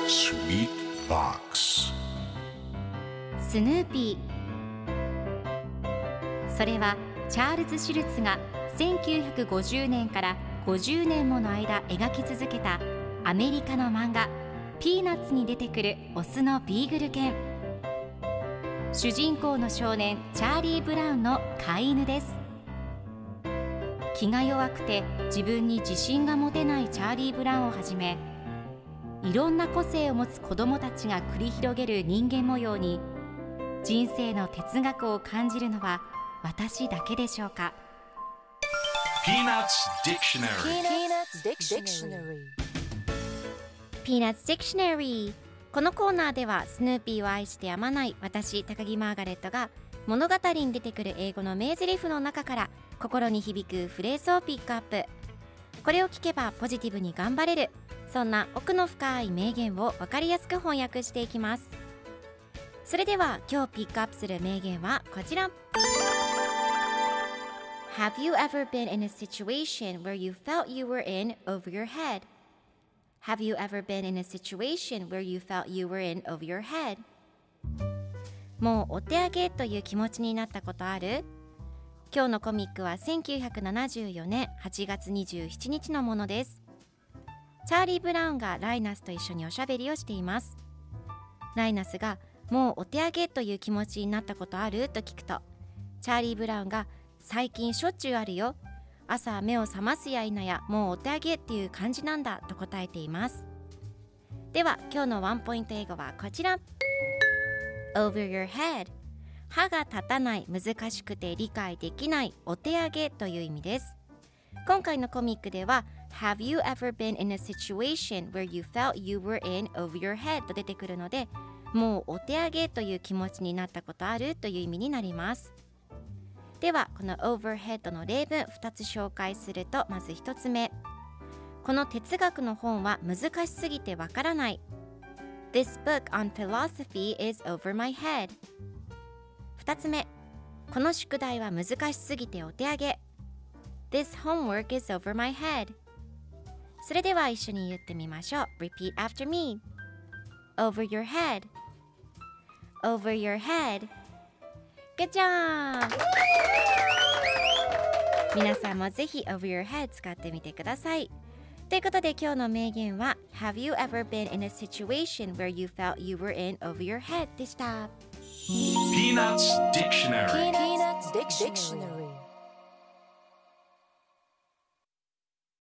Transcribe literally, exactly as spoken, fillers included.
Sweet Box スヌーピー。それはチャールズ・シュルツがせんきゅうひゃくごじゅうねんからごじゅうねんもの間描き続けたアメリカの漫画ピーナッツに出てくるオスのビーグル犬。主人公の少年チャーリー・ブラウンの飼い犬です。気が弱くて自分に自信が持てないチャーリー・ブラウンをはじめ、いろんな個性を持つ子どもたちが繰り広げる人間模様に人生の哲学を感じるのは私だけでしょうか。 Peanuts Dictionary Peanuts Dictionary。 このコーナーではスヌーピーを愛してやまない私高木マーガレットが物語に出てくる英語の名台詞の中から心に響くフレーズをピックアップ。これを聞けばポジティブに頑張れる、そんな奥の深い名言を分かりやすく翻訳していきます。それでは今日ピックアップする名言はこちら。 Have you ever been in a situation where you felt you were in over your head? Have you ever been in a situation where you felt you were in over your head? もうお手上げという気持ちになったことある？今日のコミックはせんきゅうひゃくななじゅうよねんはちがつにじゅうしちにちのものです。チャーリー・ブラウンがライナスと一緒におしゃべりをしています。ライナスがもうお手上げという気持ちになったことあると聞くと、チャーリー・ブラウンが最近しょっちゅうあるよ、朝目を覚ますや否やもうお手上げっていう感じなんだと答えています。では今日のワンポイント英語はこちら。 Over your head。 歯が立たない、難しくて理解できない、お手上げという意味です。今回のコミックでは Have you ever been in a situation where you felt you were in over your head と出てくるので、もうお手上げという気持ちになったことあるという意味になります。ではこの overhead の例文ふたつ紹介すると、まずひとつめ、この哲学の本は難しすぎてわからない。 This book on philosophy is over my head。 ふたつめ、この宿題は難しすぎてお手上げ。 This homework is over my head。 それでは一緒に言ってみましょう。 Repeat after me。 Over your head。 Over your head。 Good job。 皆さんもぜひ Over your head 使ってみてください。ということで今日の名言は Have you ever been in a situation where you felt you were in over your head でした。 Peanuts Dictionary Peanuts Dictionary